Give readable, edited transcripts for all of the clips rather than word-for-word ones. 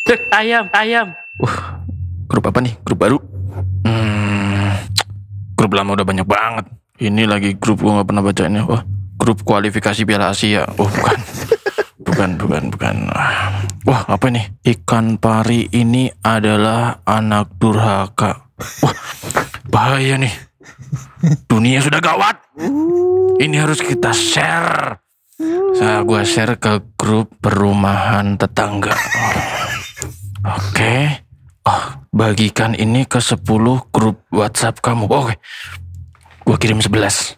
Ayam. Grup apa nih? Grup baru? Grup lama udah banyak banget. Ini lagi grup gue gak pernah bacainnya. Wah, grup kualifikasi Piala Asia. Oh bukan. bukan. Wah, apa nih? Ikan pari ini adalah anak durhaka. Wah, bahaya nih. Dunia sudah gawat. Ini harus kita share. Gue share ke grup perumahan tetangga. Oke. Bagikan ini ke 10 grup WhatsApp kamu. Oke. Gue kirim 11.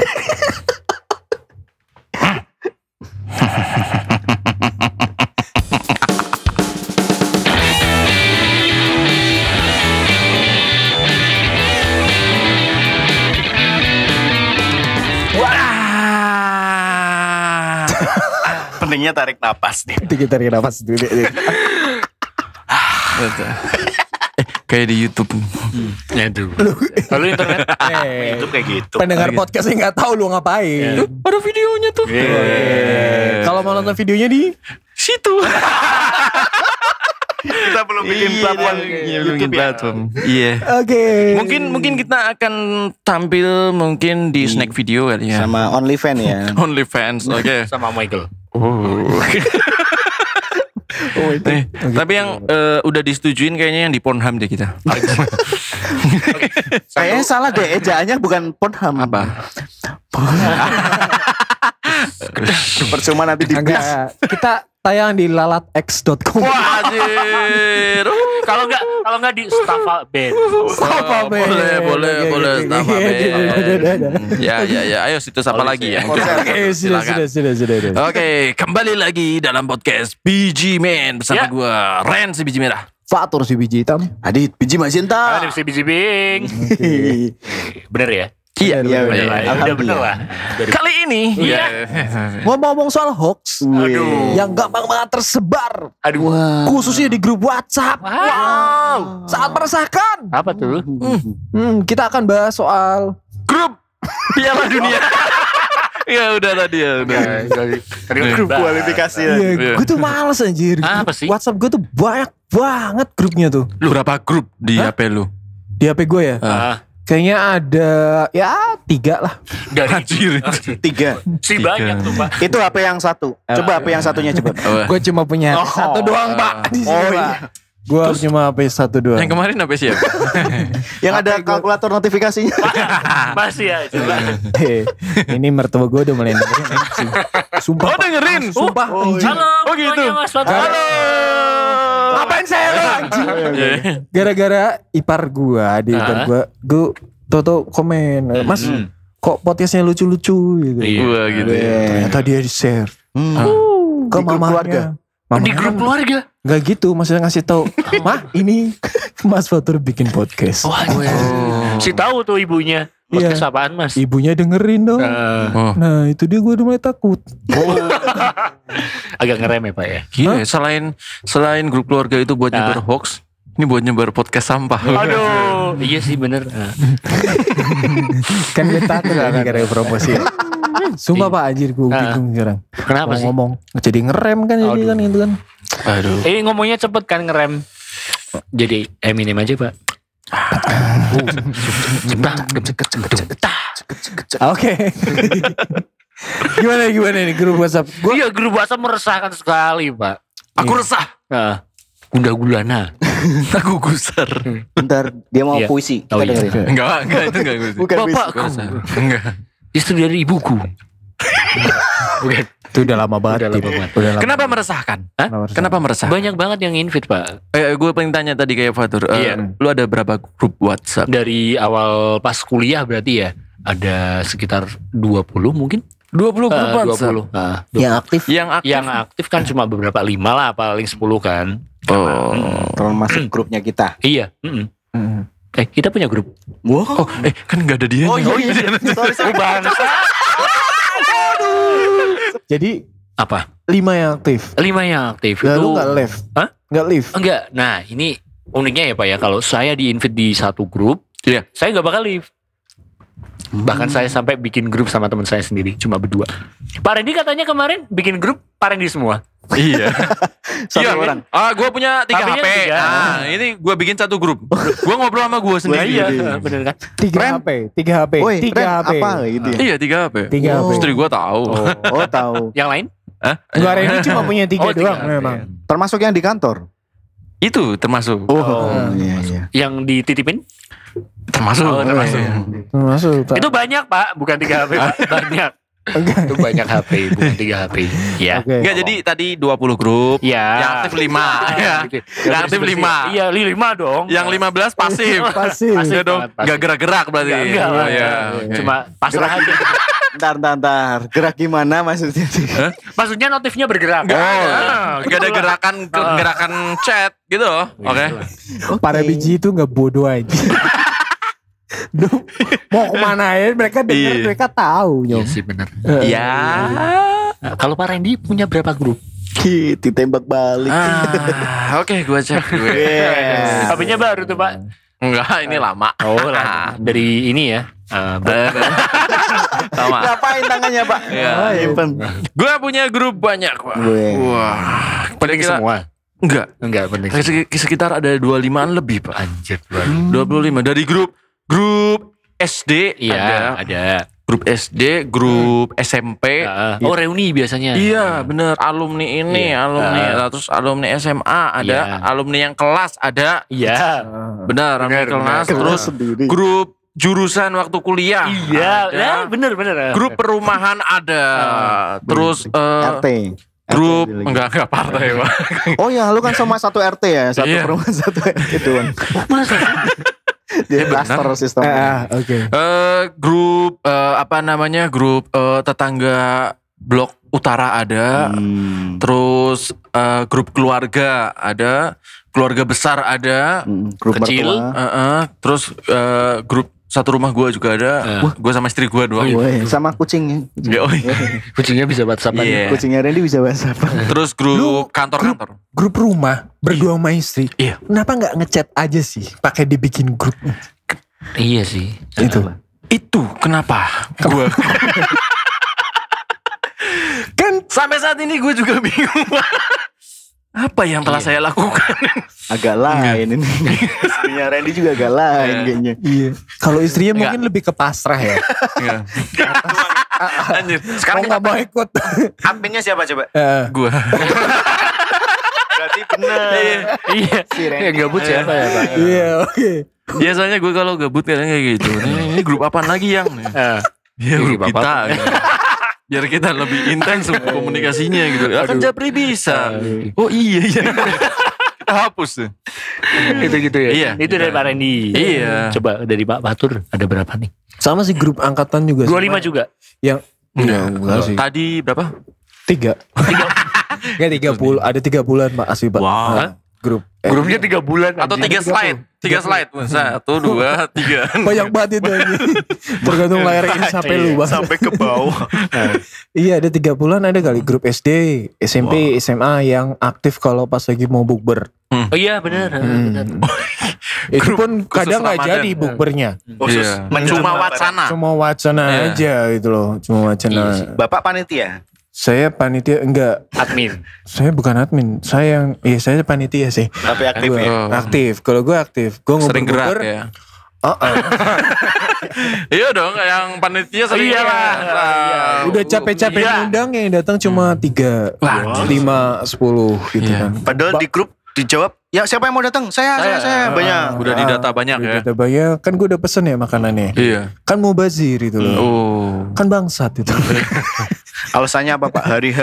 Pentingnya tarik napas nih. Tarik napas dulu. Kayak di YouTube. Aduh. Lalu internet Itu kayak gitu. Pendengar podcastnya nggak tahu lu ngapain. Ada videonya tuh. Kalau mau nonton videonya di Situ. Kita belum bikin platform YouTube ya. Iya. Oke. Mungkin kita akan tampil mungkin di snack video kali ya. Sama OnlyFans ya. OnlyFans. Oke. sama Michael. Tapi yang udah disetujuin kayaknya yang di Pornhub deh kita. Kayaknya salah deh, ejaannya bukan Pornhub. Apa? Percuma nanti di Enggak, kita tayang di lalatx.com. Wah, anjir. Kalau enggak di Staffa Band. Boleh Staffa Band. Ya. Ayo situs apa lagi ya? Oke, sudah. Oke, kembali lagi dalam podcast Biji Man bersama Ya. gue Ren si biji merah. Fatur si biji hitam. Adit biji Magenta. Ada biji bing. Bener ya? Iya. Udah bener lah. Kali ini Ngomong-ngomong soal hoax yang gampang banget tersebar, khususnya di grup WhatsApp. Wow, sangat meresahkan. Apa tuh? Kita akan bahas soal grup Piala Dunia. Ya udah tadi ya. Grup kualifikasi ya. gue tuh males anjir. Apa sih? WhatsApp gue tuh banyak banget grupnya tuh. Lu berapa grup di HP lu? Di HP gue ya. Kayaknya ada ya 3 lah. Anjir. 3. Si banyak tuh Pak. Itu HP yang satu. Coba HP yang satunya coba. Gue cuma punya satu doang Pak. iya. Gue cuma HP satu doang. Yang kemarin apa sih ya? Yang ada kalkulator notifikasinya. Masih ya. Coba. Ini mertua gue udah mulai dengerin anjing. Sumpah. Oh, dengerin? Sumpah anjing. Halo. Oh, gitu. Mas Fatur. Halo. Ngapain saya lo anjing? Gara-gara ipar gue, adik ipar gue toto komen, Mas kok podcastnya lucu-lucu gitu. Gua gitu ya. Ternyata dia di-share ke Di grup keluarga. mamanya. Di grup keluarga. Gak gitu, maksudnya ngasih tahu, Mah ini Mas Fatur bikin podcast. Si tahu tuh ibunya. Podcast apaan Mas? Ibunya dengerin dong. Nah itu dia, gue udah mulai takut. Agak ngerem ya Pak ya. Gila ya, selain grup keluarga itu buat nyebar hoax, ini buat nyebar podcast sampah. Aduh. Iya sih bener. Kan gue takut lagi karena promosi. Sumpah Pak anjir, gue bingung sekarang. Kenapa sih? Ngomong jadi ngerem kan jadi kan gitu kan. Aduh. Ngomongnya cepet kan ngerem. Jadi Eminem aja Pak. Oke. Gimana nih grup WhatsApp? Iya grup WhatsApp meresahkan sekali Pak. Aku resah. Gundah gulana. Aku gusar. Bentar, dia mau Iya. puisi. Oh, Kita iya. dengerin. Enggak itu enggak gue. Bukan puisi. Bapakku. Enggak. Istri dari ibuku. Bukan. Itu udah lama banget. Udah lama banget. Udah lama. Kenapa meresahkan? Hah? Kenapa meresahkan? Banyak banget yang invite Pak. Gue pengen tanya tadi kayak Fatur. Iya. Lu ada berapa grup WhatsApp? Dari awal pas kuliah berarti ya. Ada sekitar 20 mungkin. 20 grup WhatsApp. 20. Nah, Yang aktif? Yang aktif kan cuma beberapa 5 lah, paling 10 kan. Termasuk grupnya kita. Iya. Kita punya grup. Wow. Kan gak ada dia. Oh iya. Sorry. Bangsa. Jadi Apa? 5 yang aktif. 5 yang aktif. Lalu Itu gak live? Hah? Gak live? Enggak. Nah, ini uniknya ya Pak ya, kalau saya di-invite di satu grup, Iya. saya gak bakal live. Bahkan saya sampai bikin grup sama teman saya sendiri, cuma berdua. Pak Randy katanya kemarin bikin grup Pak Randy semua. Iya. Satu Iya, orang. gue punya 3 HP-nya HP. tiga. Nah, ini gue bikin satu grup. Gue ngobrol sama gue sendiri. Iya, bener kan? 3 HP, 3 HP, Woi, 3 Ren, HP. apa gitu ya? Iya 3 HP. 3 HP. Istri gue tahu. Oh, tahu. Yang lain? Hah? Gua Randy cuma punya 3 Oh, doang 3 HP. memang. Termasuk yang di kantor. Itu termasuk. Iya, iya. Yang dititipin? Termasuk. Oh, termasuk. Masuk. Itu banyak Pak, bukan 3 HP Pak. Banyak. Itu banyak HP, bukan 3 HP. Ya. Oke. Enggak, jadi tadi 20 grup. Ya. Yang aktif 5. Ya. Yang aktif 5. Iya, 5 dong. Yang 15 pasif. Pasif. Iya dong. banget, pasif. Enggak gerak-gerak berarti. Enggak Oh, lah. iya. Cuma pasrah aja. Ntar. Gerak gimana maksudnya? Maksudnya notifnya bergerak. Enggak ada gerakan chat gitu loh. Oke. Para biji itu nggak bodoh aja. Duh, mau kemana ya mereka dengar, Iya. mereka tahu Iya nyom. sih benar. Iya. Kalau Pak Randy punya berapa grup? Ditembak balik. Oke, gue cek gue. Yes. HP-nya baru tuh Pak. Enggak, ini lama. Oh lah, dari ini ya. Sama. Ngapain tangannya, Pak? Iya. Nyimpen. Gue punya grup banyak, Pak. Gue. Wah, Penting kira-kira- semua. Enggak. Enggak penting. Sekitar ada 25-an lebih, Pak. Anjir. 25 dari grup SD Iya, ada. ada. Grup SD, grup SMP. Oh, reuni biasanya. Iya, bener. Alumni ini, Iya. alumni. Terus alumni SMA ada, Iya. alumni yang kelas ada. Iya. Benar, alumni Benar, kelas. benar. Terus Sendiri. grup jurusan waktu kuliah. Iya, ada. ya, bener. Grup perumahan ada. Terus RT. grup RT enggak partai, Pak. Oh ya, lu kan sama satu RT ya, satu Iya. perumahan satu RT doang. Masa? Dia cluster sistem. Oke. Grup apa namanya? Grup tetangga blok utara ada. Terus grup keluarga ada, keluarga besar ada. Grup Kecil. mertua. Terus grup satu rumah gue juga ada. Gue sama istri gue doang. Woi, sama kucingnya. Ya, oh iya. Kucingnya bisa WhatsApp Iya. Kucingnya Randy bisa bahasa apa? Terus grup kantor-kantor. Grup rumah berdua sama istri. Iya. Kenapa nggak ngechat aja sih? Pakai dibikin grup Iya sih. itu. Itu kenapa? Gue Kan sampai saat ini gue juga bingung. Apa yang telah saya lakukan? Agak lain ini. Istrinya Randy juga agak lain kayaknya. iya. Kalau istrinya Nggak. mungkin lebih ke pasrah ya. Iya. Anjir. Sekarang Kok nggak mau ikut? adminnya siapa coba? Gue. Berarti bener. Iya. Si Randy. Yang gabut siapa ya Pak? Iya, oke. Biasanya gue kalau gabut kadang kayak gitu. Ini grup apa lagi yang? Ya grup Grup apa? kita. Gitu. Biar kita lebih intens komunikasinya gitu. Ya kan Japri bisa. Oh iya. Kita hapus tuh. Gitu ya. Iya. Itu dari Pak Randy. Iya. Coba dari Pak Batur ada berapa nih? Sama sih grup angkatan juga. 25 juga. Yang enggak sih. Tadi berapa? 3. Enggak 30, ada 3 bulan Pak asli Pak. Wow. Nah, grup. Grupnya 3 bulan. Atau anjing. 3 slide? 3 slide. 1, 2, 3. Banyak banget itu anjing. Tergantung layar sampai lu Bang. Sampai ke bawah. Iya ada 3 bulan ada kali grup SD, SMP, SMA yang aktif kalau pas lagi mau bukber. Oh iya benar. Benar. Itu pun kadang nggak Ramadan. jadi bukbernya. Khusus Iya. menyusun Cuma Ramadan. wacana. Cuma wacana Iya. aja gitu loh. Cuma wacana. Iya sih. Bapak panitia. Saya panitia enggak. Admin. Saya bukan admin. Saya saya panitia sih. Tapi aktif Gua ya. Oh. aktif. Kalau gue aktif. Gue Sering gerak nguber-nguber. ya. Oh. Iya dong, yang panitia sering Iya lah. gerak. Udah capek-capek Iya. ngundang yang datang cuma 3, 5, 10 gitu Iya. kan. Padahal di grup dijawab, ya siapa yang mau datang? Saya. Banyak. Udah didata banyak ya. Udah banyak. Kan gue udah pesen ya makanannya. Iya. Kan mau bazir itu loh. Oh. Kan bangsat itu. Alasannya apa Pak? Hari H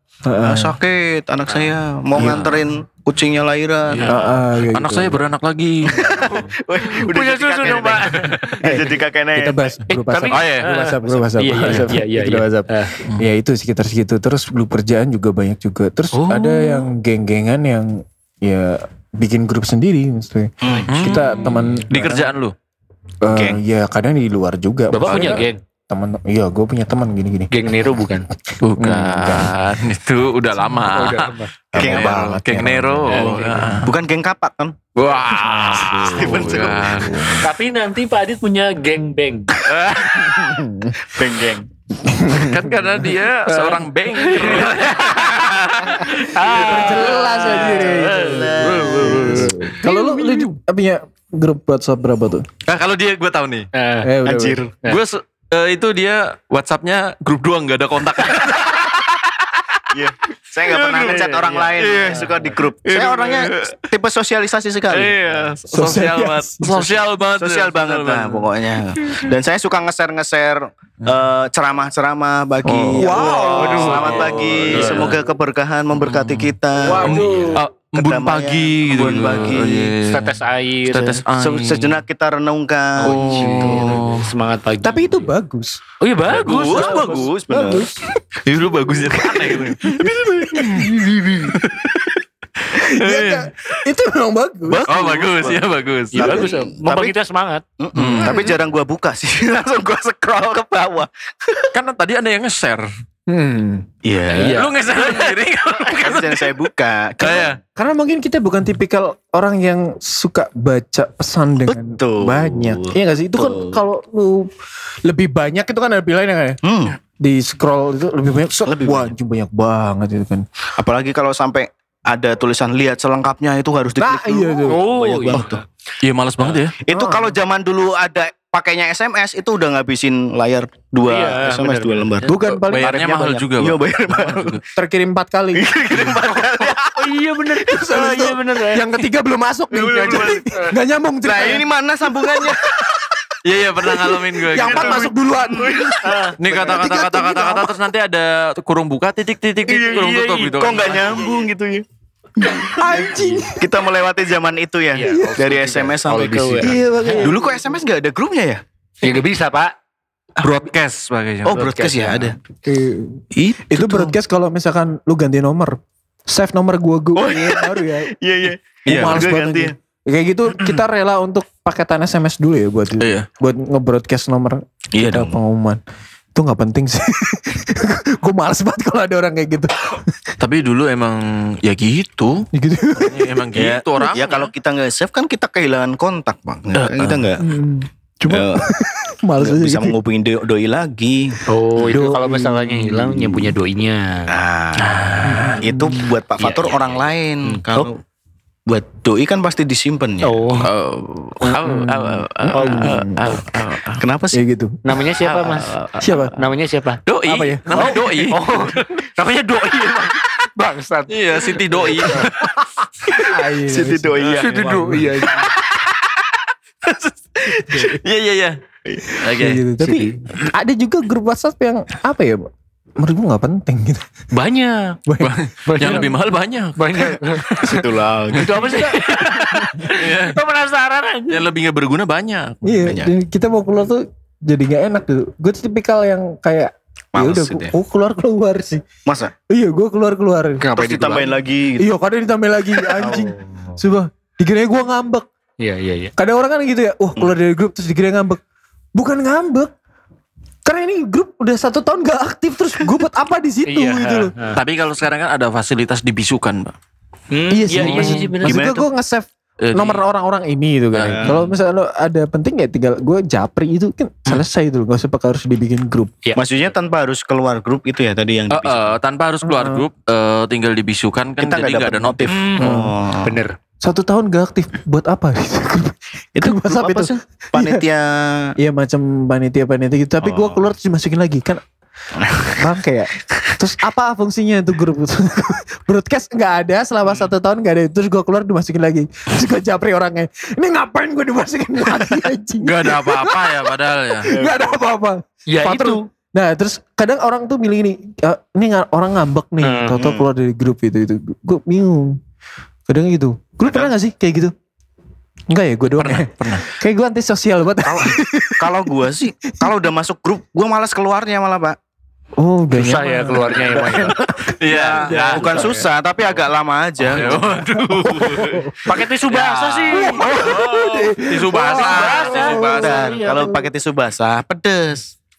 sakit anak saya mau nganterin kucingnya lahiran. Kayak Anak gitu. saya beranak lagi. Punya susu dong Pak. Jadi kakek nenek. Kita bahas grup WhatsApp. tapi- Oh, iya. Grup WhatsApp. Iya, iya. Grup WhatsApp. Ya itu sekitar segitu. Terus grup kerjaan juga banyak juga. Terus Oh. ada yang geng-gengan yang ya bikin grup sendiri maksudnya. Kita teman Di kerjaan lu. ya kadang di luar juga. Bapak Maksudnya punya geng. teman. Iya, gue punya teman gini-gini. Geng Nero bukan? Bukan, itu udah lama. Geng banget, Geng ya. Nero. Bukan geng kapak kan? Wah, Steven bukan. Tapi nanti Pak Adit punya geng beng. Geng-geng. Kan karena dia seorang banker. Jelas aja. Kalau lu punya grup WhatsApp berapa tuh? Nah, kalau dia gue tahu nih. Udah, Anjir. Gue itu dia WhatsAppnya grup doang, nggak ada kontak. Iya. Saya nggak pernah ngechat orang lain. Saya suka di grup. Saya orangnya tipe sosialisasi sekali. Iya, sosial banget. Sosial banget. Sosial banget lah pokoknya. Dan saya suka nge-share ceramah-ceramah bagi. Wow. Selamat pagi. Semoga keberkahan memberkati kita. Embun Kedamaian, pagi gitu. embun pagi. Tetes air. Tetes air. Sejenak kita renungkan. Oh. Semangat pagi. Tapi itu bagus. Oh iya bagus. Bagus, benar. Itu lu bagusnya aneh gitu. Iya kan? Itu memang bagus. Oh bagus, ya bagus. Iya bagus. Membuat kita semangat. Tapi jarang gua buka sih. Langsung gua scroll ke bawah. Kan tadi ada yang nge-share. Iya. Lu nge-share sendiri. Tapi yang saya buka. Kayak Karena mungkin kita bukan tipikal orang yang suka baca pesan dengan Betul. banyak. Iya gak sih? Itu kan kalau lu lebih banyak itu kan ada pilihannya kan ya? Di scroll itu lebih banyak. Lebih Wah anjing banyak banget itu kan. Apalagi kalau sampai ada tulisan lihat selengkapnya itu harus diklik Nah iya tuh. Oh Banyak iya. banget tuh. iya males banget ya. Itu kalau zaman dulu ada pakainya SMS itu udah ngabisin layar 2 Iya, SMS benar, 2 lembar. Bukan paling Bayarnya tarifnya mahal banyak. juga, Iya Bang. bayar mahal. terkirim 4 kali. Oh iya bener. Oh iya bener. Yang ketiga belum masuk nih. Gak nyambung Nah ceritanya. ini mana sambungannya? Iya iya pernah ngalamin gue. Yang 4 masuk duluan. Nih kata-kata terus nanti ada kurung buka titik kurung tutup gitu. Kok nggak nyambung gitu ya? Anjing. Kita melewati zaman itu ya. Iya, Dari SMS sampai ke WA. Iya makanya. Dulu kok SMS nggak ada grupnya ya? Ya gak bisa Pak. Broadcast sebagainya. Oh broadcast ya ada. Itu broadcast kalau misalkan lu ganti nomor. Save nomor gua baru ya. Iya iya. Iya, Males gua banget ganti anjing. Kayak gitu kita rela untuk paketan SMS dulu ya buat Iya. buat nge-broadcast nomor Iya kita dong. pengumuman. Itu nggak penting sih. Gue males banget kalau ada orang kayak gitu. Tapi dulu emang ya gitu. Gitu. Emang gitu orang. Ya kalau kita nggak save kan kita kehilangan kontak bang. Kita nggak Cuma males aja bisa gitu. menghubungi doi lagi. Oh itu kalau masalahnya hilang yang punya doinya. Itu buat Pak Fatur orang lain. Kalau buat doi kan pasti disimpan ya. Oh Kenapa sih? Ya gitu. namanya siapa Mas? Siapa? Namanya siapa? Doi. Apa ya? Namanya doi. Oh namanya doi emang. Bangsat. Iya, Siti doi. Siti doi ya. Itu doi aja. Iya. Oke. Kayak gitu. Tapi ada juga grup WhatsApp yang apa ya? Menurut gue gak penting gitu. Banyak. Yang lebih mahal banyak. Banyak. Itulah. Itu apa sih? Kita penasaran aja. Yang lebih gak berguna banyak. Iya. Dan kita mau keluar tuh jadi gak enak gitu. Gue tipikal yang kayak ya Males udah gitu ya. gue keluar sih. Masa? Iya gue keluar. Terus ditambahin lagi gitu. Iya kadang ditambahin lagi anjing. Coba dikira gue ngambek. Iya. Kadang orang kan gitu ya. Wah keluar dari grup terus dikira ngambek. Bukan ngambek. Karena ini grup udah 1 tahun gak aktif. Terus gue buat apa di situ gitu loh. Tapi kalau sekarang kan ada fasilitas dibisukan, Mbak. Iya sih. Iya sih bener. Maksud Gimana gue nge-save nomor orang-orang ini gitu kan. Kalau misalnya lo ada penting ya tinggal gue japri itu kan selesai itu loh. Gak usah pakai harus dibikin grup. Iya. Maksudnya tanpa harus keluar grup itu ya tadi yang Tanpa harus keluar grup, tinggal dibisukan kan Kita jadi nggak nggak ada dapet notif. Oh. Bener. 1 tahun gak aktif buat apa? Itu Grup WhatsApp apa itu. sih? Panitia. Iya macam panitia gitu. Tapi gue keluar terus dimasukin lagi kan. Bangke ya. Terus apa fungsinya itu grup? Broadcast nggak ada selama 1 tahun nggak ada. Terus gue keluar dimasukin lagi. Terus gue japri orangnya. Ini ngapain gue dimasukin lagi anjing? Gak ada apa-apa ya padahal ya. Gak ada apa-apa. Ya Fatur. itu. Nah terus kadang orang tuh milih ini. Ini orang ngambek nih. Tau-tau keluar dari grup itu. Gue bingung. Kadang gitu. Gue pernah gak sih kayak gitu? Enggak ya gue doang ya? Pernah. Kayak gue antisosial banget. Kalau gua sih, kalau udah masuk grup, gua malas keluarnya malah Pak. Oh udah Susah ya keluarnya emang. Iya. Bukan susah, tapi agak lama aja. Pakai tisu basah sih. Tisu basah. Tisu basah. Dan kalau pakai tisu basah, pedes.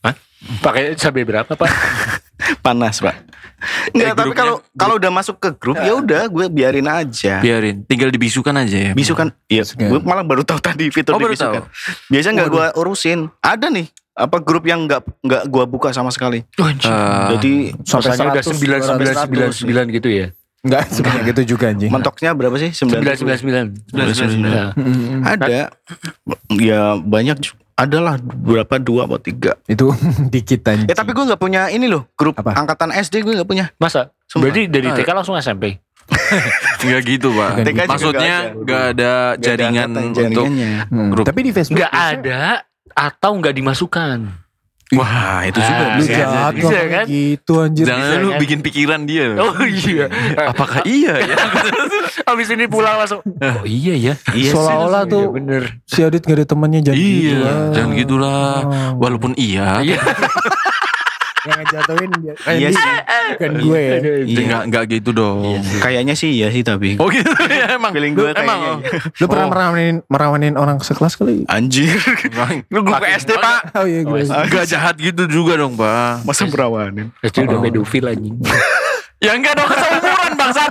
Hah? Pakai cabai berapa Pak? Panas Pak. Enggak, tapi kalau udah masuk ke grup ya udah gue biarin aja. Biarin, tinggal dibisukan aja ya. Bisukan, iya. Gue malah baru tahu tadi fitur baru dibisukan. tahu. Biasanya nggak gue urusin. Ada nih apa grup yang nggak gue buka sama sekali. Jadi Rasanya udah 9999 gitu ya. Enggak sebanyak gitu juga anjing. mentoknya berapa sih? 999. 99. Ada. Ya banyak. Adalah berapa 2 atau 3. Itu dikit anjing. Tapi gue nggak punya ini loh grup Apa? angkatan SD gue nggak punya. Masa? Sumpah. Berarti dari TK langsung SMP? Enggak gitu Pak. TK juga Maksudnya nggak nggak ada jaringan untuk grup. Tapi di Facebook Nggak ada atau nggak dimasukkan. Wah itu juga lu bisa. jahat bisa, ngomong kan? gitu anjir. Jangan lu kan? bikin pikiran dia. Oh iya. Apakah iya ya? Abis ini pulang langsung. Oh iya ya. Iya sih. Seolah-olah Iya tuh bener. si Adit gak ada temannya jadi gitu Iya, lah. jangan gitulah. Walaupun iya. Iya. Yang ngejatuhin dia. Iya sih. Bukan gue ya. Iya. Enggak gitu dong. Kayaknya sih iya sih tapi. Oh gitu ya emang. Feeling gue emang. kayaknya. Lu pernah merawanin orang sekelas kali? Anjir. Lu grup SD Pak. Oh iya gue. Enggak jahat gitu juga dong, Pak. Masa perawanin? Itu udah pedofil anjing. Ya enggak dong, seumuran bangsat.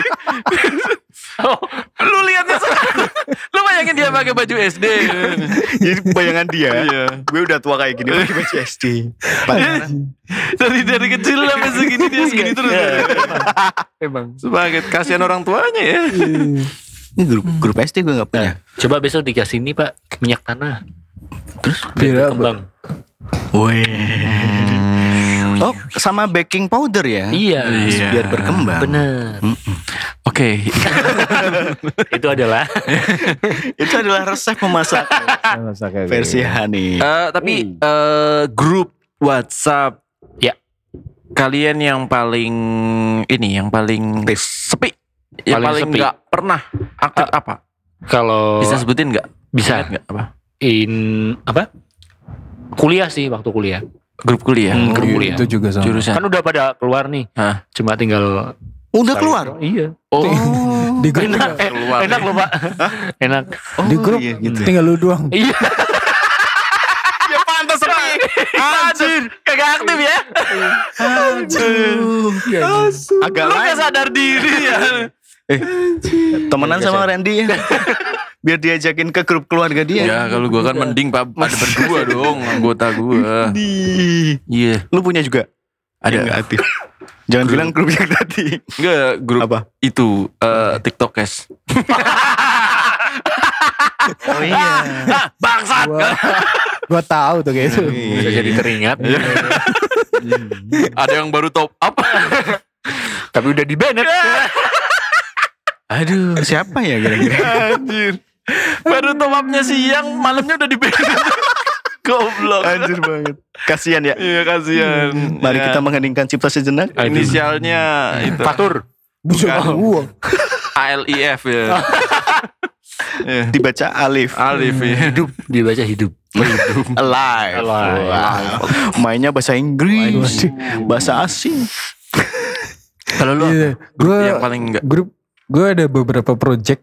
Lu lihatnya sekarang. Lu bayangin dia pakai baju SD. Jadi bayangan dia. Iya. Gue udah tua kayak gini pakai baju SD. Dari kecil sampai segini dia segini terus. Emang. Sebagai kasihan orang tuanya ya. Ini grup SD gue gak punya. Coba besok dikasih ini Pak minyak tanah. Terus Biar berkembang. Oh sama baking powder ya? Iya. Biar berkembang. Bener. Oke. Itu adalah Itu adalah resep memasak versi Hani. Tapi grup WhatsApp Ya. kalian yang paling sepi, yang Paling paling sepi. nggak pernah aktif apa? kalau Bisa sebutin nggak? Bisa. Ingat nggak apa? apa? Kuliah sih waktu kuliah. Grup kuliah. Grup kuliah. Itu juga sama. Jurusan. Kan udah pada keluar nih. Hah? Cuma tinggal Udah saya keluar? doang. Iya. Oh. Di grup Enak, keluar. enak loh Pak. Enak. di grup iya, gitu. tinggal lu doang. Iya. Ya pantas sepi. Anjir, kagak aktif ya? Agak Lu lain. nggak sadar diri ya? Temenan sama Randy ya. Biar diajakin ke grup keluarga dia. Ya kalau gua kan mending Pak ada berdua dong anggota gua. Iya. Lu punya juga? Ada. Yang nggak aktif. Jangan bilang grup yang tadi. Enggak, grup Apa? itu TikTokers. Oh iya. Bangsat. Gua tahu tuh kayak itu. Bisa jadi teringat. Ada yang baru top up. Tapi udah di banned. Aduh, siapa ya kira-kira? Anjir. Baru top upnya siang, malamnya udah di Goblok. Anjir banget. Kasihan ya. Iya kasihan. Mari Ya, kita mengheningkan cipta sejenak. inisialnya itu Fatur. Bukan uang. ALIF ya. Ya. Dibaca Alif. Alif ya. Hidup dibaca hidup. Alive. Alive. Wow. Mainnya bahasa Inggris. Bahasa asing. Kalau lu Iya. grup Gua yang paling enggak gue ada beberapa project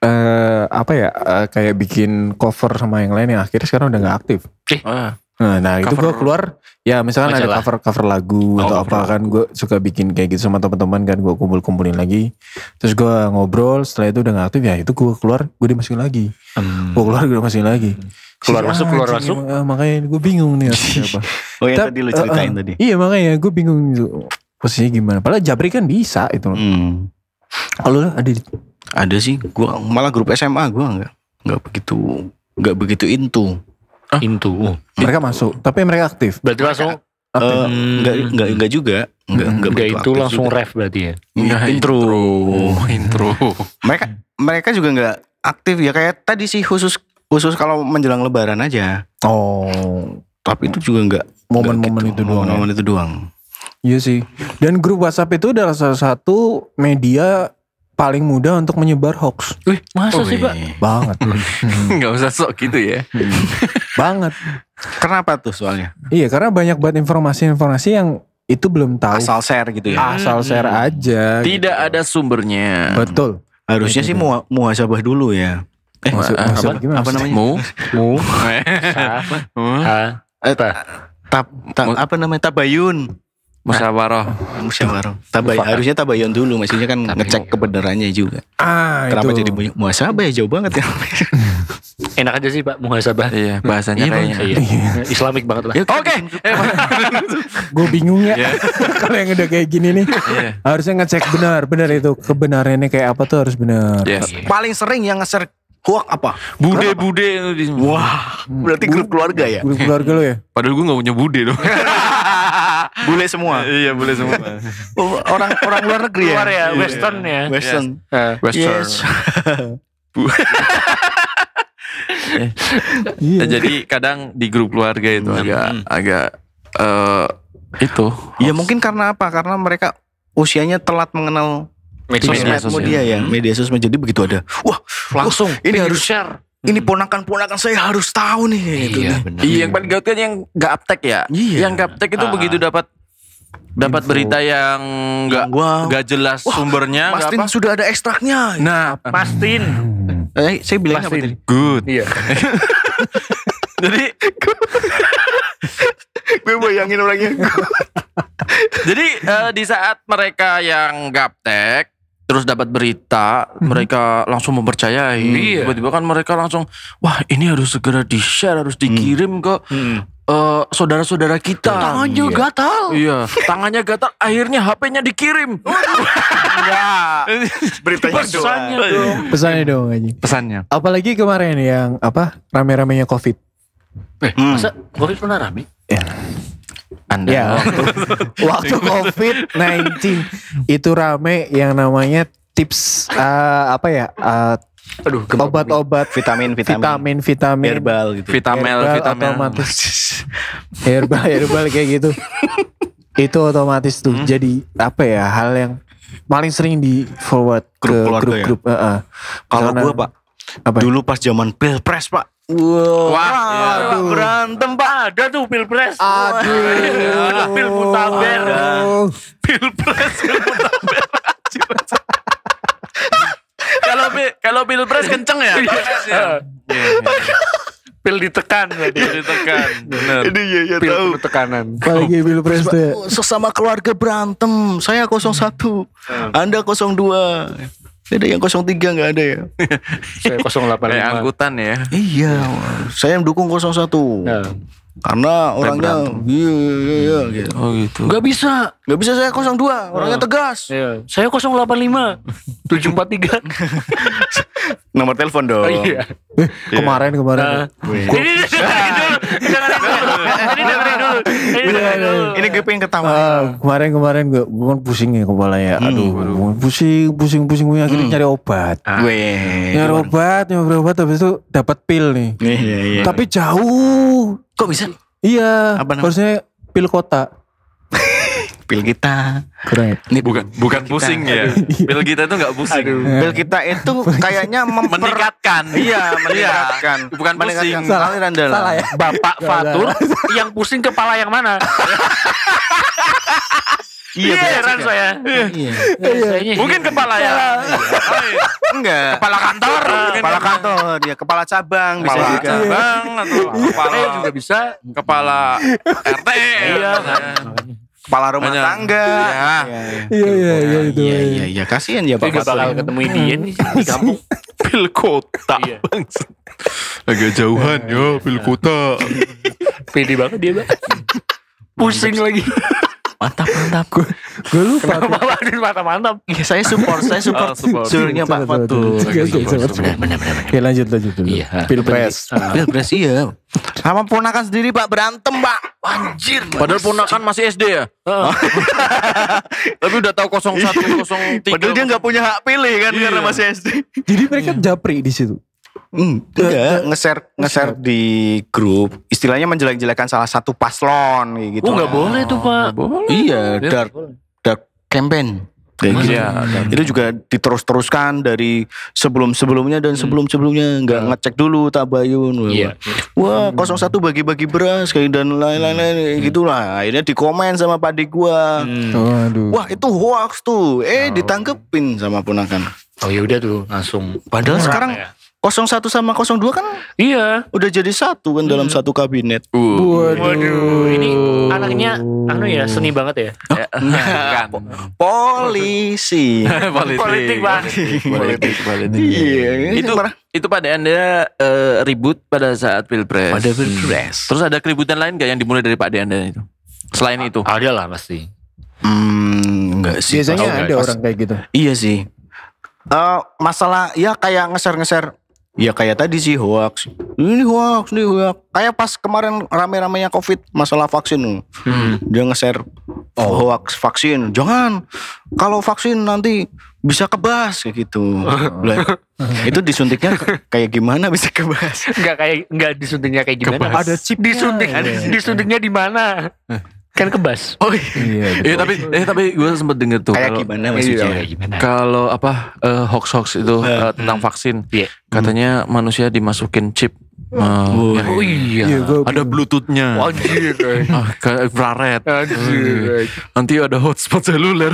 kayak bikin cover sama yang lain yang akhirnya sekarang udah nggak aktif. Nah itu Cover gue keluar ya misalkan ada majalah. cover lagu atau cover apa kan gue suka bikin kayak gitu sama teman-teman kan gue kumpulin lagi terus gue ngobrol setelah itu udah nggak aktif ya itu gue keluar gue dimasukin lagi gue keluar gue dimasukin lagi Keluar masuk, keluar anjing, masuk. makanya gue bingung nih harus siapa. Oh yang tadi lu ceritain tadi. Iya makanya gue bingung gitu posisinya gimana padahal Jabri kan bisa itu. Kalau lu Ada sih. Gua malah grup SMA gua nggak begitu into. Into. mereka masuk tapi mereka aktif. Berarti langsung Enggak juga. Enggak enggak begitu itu aktif langsung juga. ref berarti ya. Enggak, intro. Mereka juga nggak aktif ya kayak tadi sih khusus kalau menjelang Lebaran aja. Oh Tapi itu juga nggak momen-momen itu doang. Momen itu doang. Iya sih. Dan grup WhatsApp itu adalah salah satu media paling mudah untuk menyebar hoax. Wih, masa sih Pak? Banget. Enggak usah sok gitu ya. Banget. Kenapa tuh soalnya? Iya karena banyak banget informasi-informasi yang itu belum tahu. Asal share gitu ya. Asal share aja. Tidak ada sumbernya. Betul. Harusnya sih muhasabah dulu ya. Maksud apa? gimana? Apa namanya? Mu. Mu. Ha. Apa? apa namanya? Tabayun. Musyawarah. Musyawarah. Harusnya tabayun dulu, maksudnya kan ngecek kebenarannya juga. Kenapa itu. jadi muhasabah ya, jauh banget ya. Enak aja sih Pak muhasabah. Iya, bahasanya kayaknya. Iya. Islamik banget lah. Oke. Gue bingung ya. Iya. Kalau yang udah kayak gini nih. Iya. Harusnya ngecek benar itu kebenarannya kayak apa tuh harus benar. Yes. Paling sering yang nge-share hoax apa? Bude-bude. Wah, berarti grup keluarga ya? Grup keluarga lo ya? Padahal gue gak punya bude loh. Bule semua. Iya, boleh semua. Orang luar negeri ya? Luar ya, Western ya. Western. Western. Yes. Iya. Jadi kadang di grup keluarga itu agak itu. Ya mungkin karena apa? Karena mereka usianya telat mengenal Media sosmed dia ya. Media sosmed, jadi begitu ada. Wah, langsung ini pengen harus share. Ini ponakan-ponakan saya harus tahu nih. Gitu. Benar. Iya, yang paling gawat kan yang gaptek ya. Iya. Yang gaptek itu begitu dapat berita yang nggak jelas sumbernya, nggak Pastiin apa. sudah ada ekstraknya. Nah, Pastiin. Saya bilang apa tadi? good. Iya. Jadi Gue bayangin orangnya. Jadi di saat mereka yang gaptek terus dapat berita, mereka langsung mempercayai. Iya. Tiba-tiba kan mereka langsung, wah ini harus segera di-share, harus dikirim ke saudara-saudara kita. Tangannya gatal. Iya, tangannya gatal. Akhirnya HP-nya dikirim. Enggak. Beritanya Pesannya doang. dong. Pesannya dong anjing. Pesannya. Apalagi kemarin yang rame-ramenya COVID. Masa Covid pernah rame? Anda. Ya, waktu COVID-19 itu rame yang namanya tips Aduh, obat-obat Vitamin. Herbal gitu. Vitamin. Otomatis herbal kayak gitu. Itu otomatis tuh jadi hal yang paling sering di forward ke Grup keluarga grup-grup. Kalau Misalnya- gue Pak, apa? dulu pas zaman Pilpres Pak. Wah, Aduh. Berantem Pak. Ada tuh pilpres. Aduh. Pil mutaber. Pilpres. Kalau pilpres kenceng ya. Pil ditekan berarti. Ditekan. Bener. Ini ya Pil tahu. penuh tekanan. Apalagi pilpres tuh ya. Sesama keluarga berantem. Saya 01, Anda 02. Ada yang 03 nggak ada ya? Saya 085. Kayak angkutan ya. Iya, saya yang dukung 01. Nah. Karena orangnya iya gitu. Oh gitu. Gak bisa. Gak bisa saya 02, orangnya tegas. Iya. Saya 085 743. Nomor telepon dong. Oh iya. Kemarin. Ini dengerin dulu. Ini gue pengen ketawa. Kemarin gue kan pusing ya kepala ya. Aduh, pusing gue akhirnya nyari obat. Nyari obat habis itu dapat pil nih. Iya. Tapi jauh. Kok bisa? Iya, Apa namanya? harusnya pil kota. Pil kita. Kurang ya? Ini Bukan pusing ya. Pil kita itu nggak pusing. Pil kita itu kayaknya Meningkatkan. Iya, meningkatkan. Bukan pusing. Aliran darah. Salah ya? Bapak Fatur yang pusing kepala yang mana? Iya, Heran saya. Iya. Mungkin kepala ya. Enggak. Kepala kantor. Kepala kantor, ya kepala cabang bisa Kepala juga. cabang atau kepala juga bisa. kepala RT. Iya. Kepala rumah Banyak. tangga. Iya itu. Iya, kasihan ya Tapi Pak gak bakal Fatur. ketemu dia nih di kampung. Pil kota. Iya. Agak jauhan ya pil kota. Pede banget dia, Mbak. Pusing lagi. Mantap. Gue lupa. Waduh, mantap. Iya, saya support support. sulurnya Pak Fatur. Oke, lanjut dulu. Iya. Pilpres. Pilpres iya. Sama ponakan sendiri Pak berantem Pak. Anjir. Padahal ponakan masih SD ya. Tapi udah tahu 01, 03. Padahal dia nggak punya hak pilih kan karena masih SD. Jadi mereka japri di situ. Enggak, nge-share di grup. Istilahnya menjelek-jelekan salah satu paslon kayak gitu. Oh, nggak boleh tuh, Pak. Iya, dark campaign. Kayak gitu. Iya, Itu juga diterus-teruskan dari sebelum-sebelumnya dan sebelum-sebelumnya nggak ngecek dulu tabayun. Iya. Wah, 01 bagi-bagi beras kayak dan lain-lain gitulah. Akhirnya dikomen sama padik gua. Waduh. Wah, itu hoax tuh. Ditangkepin sama ponakan. Oh ya udah tuh langsung. Padahal Perang sekarang ya. 01 sama 02 kan Iya. udah jadi satu kan dalam satu kabinet. Waduh, ini anaknya seni banget ya. Kan. Polisi. Politik, Bang. Politik. Iya, Itu pada Anda ribut pada saat Pilpres. pada Pilpres. Terus ada keributan lain gak yang dimulai dari Pak Anda itu? Selain itu. Ada lah pasti. Enggak sih. Biasanya ada orang kayak gitu. Iya sih. Masalah ya kayak ngeser-ngeser. Ya kayak tadi sih hoax. Ini hoax. Kayak pas kemarin rame-ramenya COVID masalah vaksin. Dia nge-share hoax vaksin. Jangan. Kalau vaksin nanti bisa kebas kayak gitu. Lah, itu disuntiknya kayak gimana bisa kebas? Enggak disuntiknya kayak gimana? Ada chip Disuntiknya di mana? Kan kebas. Oh iya. Tapi gue sempat denger tuh Kayak kalau- gimana maksudnya? Kayak gimana? Kalau hoax itu tentang vaksin, Iya. katanya manusia dimasukin chip. Oh iya. Ada Bluetooth-nya. Anjir. Kayak infrared. Anjir. Nanti ada hotspot seluler.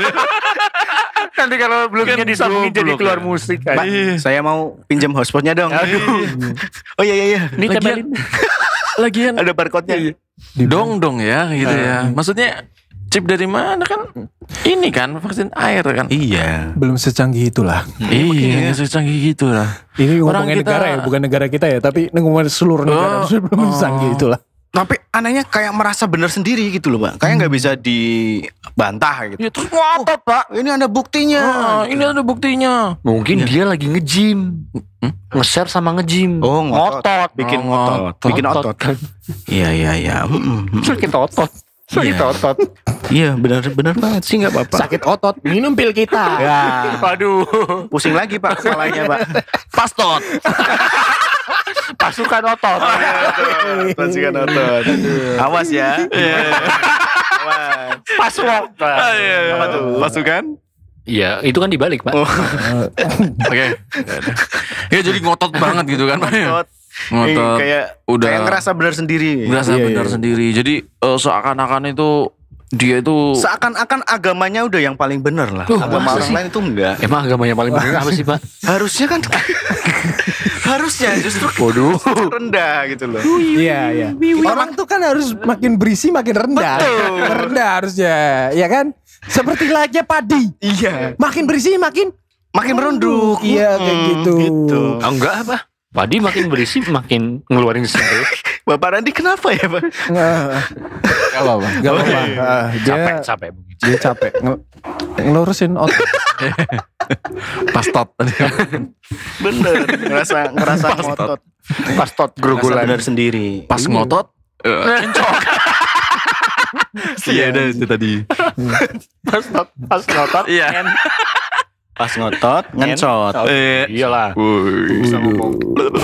Nanti kalau belumnya Kan disambungin jadi goblok keluar ya. musik Pak, kan. saya mau pinjam hotspotnya dong. Aduh. Oh iya. Ini tempelin. Lagian Ada barcode-nya. dong ya gitu ya. Maksudnya chip dari mana kan? Ini kan vaksin air kan. Iya. Belum secanggih itulah. Iya, secanggih gitu lah. Ini Orang ngomongin kita- negara ya, bukan negara kita ya, tapi ngomongin seluruh negara belum secanggih itulah. Tapi anehnya kayak merasa benar sendiri gitu loh, Pak. Kayak nggak bisa dibantah gitu. Ya terus ngotot, Pak. Ini ada buktinya. Ini ada buktinya. Mungkin dia lagi nge-gym. Nge-share sama nge-gym. Oh, ngotot. Bikin ngotot. Bikin otot. kan. Iya. Sakit otot. Sakit Iya. otot. Iya, benar banget sih nggak apa-apa. Sakit otot, minum pil kita. Ya, Waduh. pusing lagi Pak kepalanya, Pak. Pastot. Pasukan otot. Pasukan otot. Awas ya. Awas. Password. Apa tuh? Pasukan? Iya, itu kan dibalik, Pak. Oke. Ya jadi ngotot banget gitu kan, Pak. Otot. Ngotot. Kayak Udah. kayak ngerasa benar sendiri. Berasa Iya, benar iya. sendiri. Jadi seakan-akan itu dia itu Seakan-akan agamanya udah yang paling benar lah. Agama masa orang sih? lain itu enggak. Emang agama yang paling benar apa sih, Pak? Harusnya kan harusnya justru Waduh. rendah gitu loh. Iya. Orang tuh kan harus makin berisi makin rendah. Rendah harusnya, ya kan? Seperti layaknya padi. Iya. Makin berisi makin Makin merunduk. Iya, kayak gitu. Oh, enggak apa? Padi makin berisi makin ngeluarin sendiri. Bapak Randi kenapa ya, Pak? Gak apa-apa. Gak apa-apa. Dia Capek. dia capek ngelurusin otot. pastot. Bener. Ngerasa ngotot. Pas tot Ngerasa grogolan. benar sendiri. Pas ngotot cincok. Iya, itu tadi. Pas ngotot. Iya. Pas ngotot, ngencot. Iyalah. Bisa ngomong.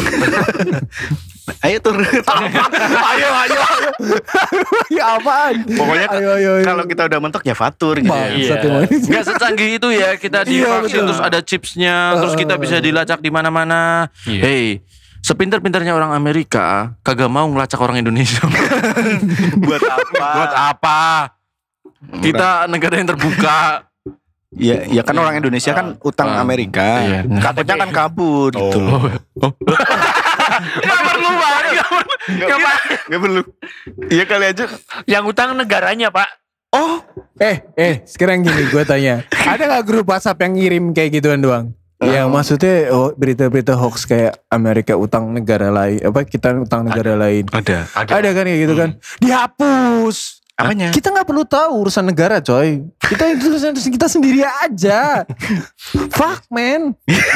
Ayo turun. Ayo. Ya apaan? Pokoknya Ayo. kalau kita udah mentok ya fatur gitu ya. Bangsat emang. Nggak secanggih itu ya kita Iya, divaksin betul. terus ada chipsnya terus kita bisa dilacak di mana-mana. Iya. Hey, sepintar-pintarnya orang Amerika kagak mau ngelacak orang Indonesia. Buat apa? Buat apa? Kita negara yang terbuka. Ya kan orang Indonesia kan utang Amerika. Iya. Takutnya kan kabur gitu loh. Gak perlu banget. Gak perlu. Iya kali aja. Yang utang negaranya, Pak. Oh, Sekarang gini gue tanya, ada gak grup WhatsApp yang ngirim kayak gituan doang? Yang maksudnya berita-berita hoax kayak Amerika utang negara lain, apa kita utang negara lain. ada. Ada kan kayak gitu kan? Dihapus. Apanya? Kita nggak perlu tahu urusan negara, coy. Kita itu urusan kita sendiri aja. Fuck man.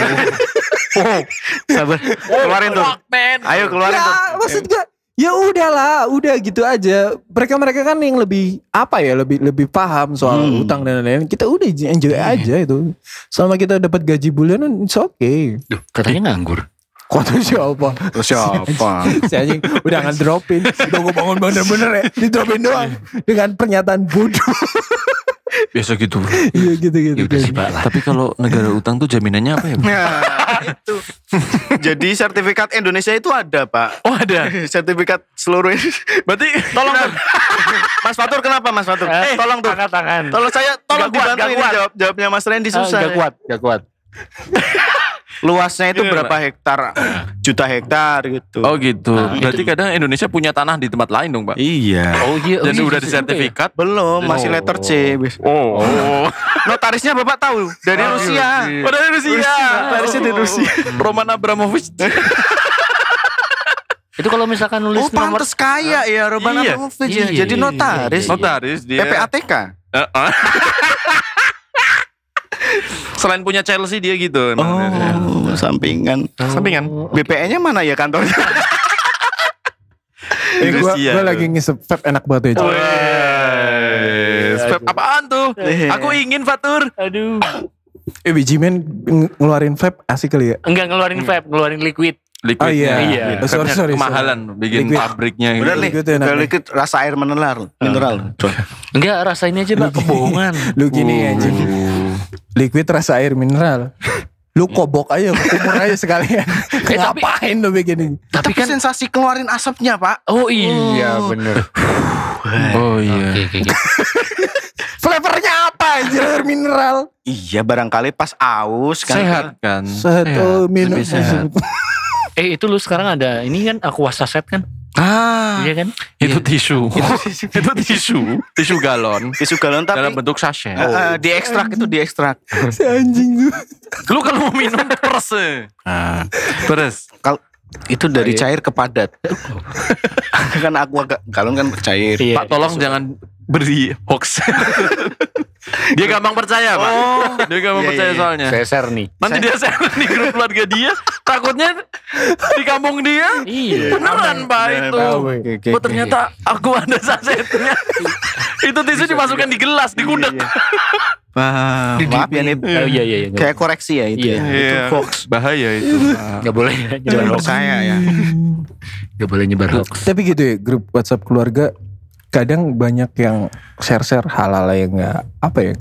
Sabar. Keluarin tuh. Ayo keluarin tuh. Ya, maksud gue, ya udahlah, udah gitu aja. Mereka kan yang lebih apa ya, lebih paham soal utang dan lain-lain. Kita udah enjoy aja itu. Selama kita dapat gaji bulanan, it's okay. Duh, katanya nganggur. Kota siapa? Terus siapa? Si anjing udah ngedropin. Udah gue bangun bener-bener ya. Didropin doang. Dengan pernyataan bodoh. Biasa gitu. Iya gitu-gitu. Ya udah sih, Pak lah. Tapi kalau negara utang tuh jaminannya apa ya? Nah, itu. Jadi sertifikat Indonesia itu ada, Pak. Oh ada. Sertifikat seluruh ini. Berarti Tolong tuh. Mas Fatur kenapa Mas Fatur? Tolong tuh. Angkat tangan. Tolong Gak kuat, dibantu gak ini kuat. jawabnya Mas Randy susah. Gak kuat. luasnya itu Gimana? berapa hektar? Juta hektar gitu. Oh gitu. Berarti kadang Indonesia punya tanah di tempat lain dong, Pak. Iya. Oh iya. Dan iya, udah iya, disertifikat. Belum, masih Oh. letter C. Oh. Notarisnya Bapak tahu dari Rusia. Oh, dari Rusia. Notarisnya dari Rusia. Roman Abramovich. Itu kalau misalkan nulis Oh, pantes kaya ya Roman Iya. Abramovich ya. Iya, Jadi iya, notaris. iya. Notaris dia. PPATK. Heeh. Selain punya Chelsea dia gitu. Oh, sampingan. Sampingan. BPN-nya mana ya kantornya? Rusia. Gue lagi ngisep vape enak banget ya. Oh, Cok. Vape apaan tuh? Aku ingin Fatur. Aduh. Biji men ngeluarin vape asik kali ya. Enggak ngeluarin vape, ngeluarin liquid. Oh iya. Iya. Oh, sorry, sorry. Kemahalan bikin Liquid. pabriknya gitu. Udah nih, Liquid enak udah nih. liquid rasa air mineral. Enggak, rasain aja Pak, kebohongan. Lu gini anjing. Liquid rasa air mineral. Lu kobok aja, kumur aja sekalian. Ngapain lu begini? Tapi Tapi kan sensasi keluarin asapnya, Pak. oh iya bener. Oh iya. Oke. Flavornya apa anjir air mineral? Iya, barangkali pas aus kan. Sehat kan? Sehat, oh, minum. lebih sehat. Itu lu sekarang ada ini kan Aqua Saset kan? Ah, Iya kan? itu tisu. Itu tisu galon Tisu galon tapi dalam bentuk sachet. diekstrak itu diekstrak. Si anjing tuh. Lu kalau mau minum peres. Peres. Kalau itu dari cair ke padat. Kan aqua galon kan cair. Iya. Pak tolong jangan beri hoax. Dia gampang percaya, Pak. Dia gampang Iya, percaya iya. soalnya. Saya share nih. Nanti dia share di grup keluarga dia, takutnya di kampung dia Iya. beneran Pak itu. Oke. Oh ternyata aku ada sasetnya. Itu tisu dimasukkan di gelas, di gudeg. Maaf ya nih. Oh iya iya. Kayak koreksi ya itu. Iya. Ya. Itu hoax. Bahaya itu. Enggak boleh Jangan nyebar hoax. percaya ya. Enggak boleh nyebar hoax. Tapi gitu ya, grup WhatsApp keluarga kadang banyak yang share-share hal-hal yang nggak apa ya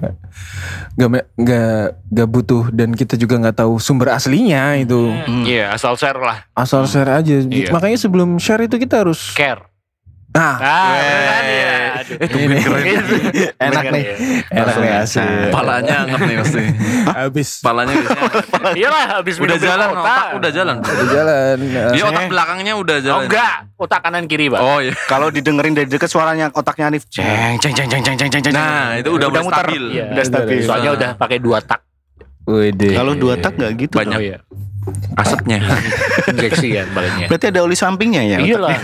nggak butuh dan kita juga nggak tahu sumber aslinya itu. Iya, asal share lah. Asal share aja. Iya. Makanya sebelum share itu kita harus Care. nah Bener kan ya. Aduh. ini enak nih, enak nih asli. Palanya anget nih pasti. Habis Palanya biasanya Iyalah habis udah minum bir jalan, kota. otak udah jalan. udah jalan. Dia otak belakangnya udah Oh jalan. enggak, otak kanan kiri, Pak. Oh iya. Kalau didengerin dari dekat suaranya otaknya Hanif. Ceng ceng ceng ceng ceng ceng ceng. Nah, itu udah mulai muter. stabil. Iya. Udah stabil. Soalnya udah pakai 2 tak. Wede. Kalau 2 tak nggak gitu. Banyak. Oh iya. Asapnya. Injeksi kan palingnya. Berarti ada oli sampingnya ya. Iyalah.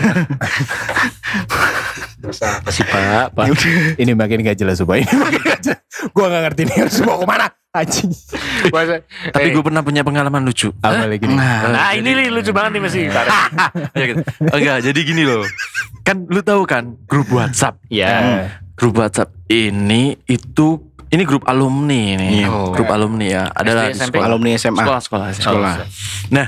Masa apa sih Pak? Ini makin gak jelas supaya ini makin gak jelas. Gue gak ngerti nih harus bawa kemana. Anjing. Tapi gue pernah punya pengalaman lucu. Apa lagi nih? Nah ini nih lucu banget nih masih. Ya, gitu. Enggak, jadi gini loh. Kan lu tahu kan grup WhatsApp. Ya. Grup WhatsApp ini grup alumni nih. Oh. Grup alumni ya. Adalah di SMP? sekolah. Alumni SMA. Sekolah. Nah,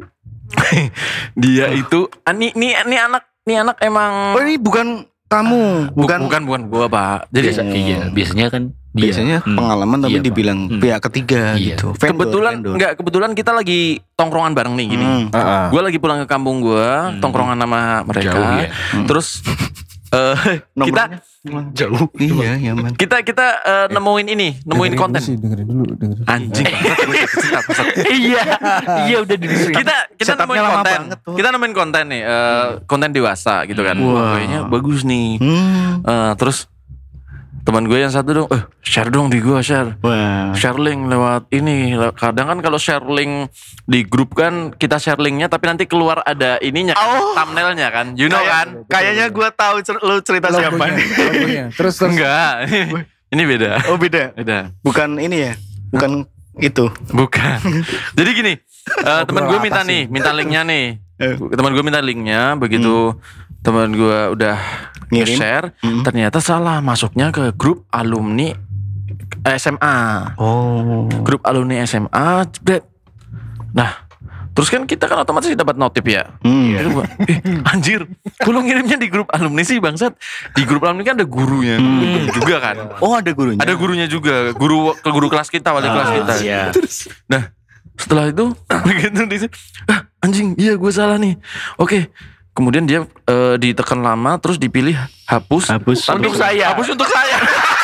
dia itu ini anak emang Oh ini bukan kamu, bukan gua, Pak. Jadi Biasanya kan dia. biasanya pengalaman tapi Iya, Pak. dibilang pihak ketiga Iya. gitu. kebetulan kita lagi tongkrongan bareng nih gini. Gue lagi pulang ke kampung gue, tongkrongan sama mereka. Jauh ya. Terus kita jauh. Iya, ya man. kita nemuin konten. Dengerin dulu. Anjing. Iya udah di kita Setupnya nemuin lama konten. banget tuh. Kita nemuin konten nih, konten dewasa gitu kan. Wah, kayaknya bagus nih. Terus teman gue yang satu dong, share dong di gue, share. Wah. Share link lewat ini. Kadang kan kalau share link di grup kan kita share linknya tapi nanti keluar ada ininya kan, thumbnailnya kan, you know kan? Kayaknya gue tahu lu cerita siapa nih. Logonya. Terus Enggak. Ini beda. Oh beda. Beda. Bukan ini ya. Bukan itu. Bukan. Jadi gini, teman gue minta linknya nih. Teman gue minta linknya, begitu teman gue udah Ngirim. share, ternyata salah masuknya ke grup alumni SMA. Oh. Grup alumni SMA, jebret. Nah, terus kan kita kan otomatis dapat notif ya. Itu gua, anjir, lu ngirimnya di grup alumni sih bangsat. Di grup alumni kan ada gurunya juga kan. Oh ada gurunya. Ada gurunya juga, guru kelas kita, wali kelas kita. Iya. Nah, setelah itu begitu anjing, iya gue salah nih. Oke. Kemudian dia ditekan lama terus dipilih hapus. Hapus. Tapi Untuk saya. Hapus untuk saya.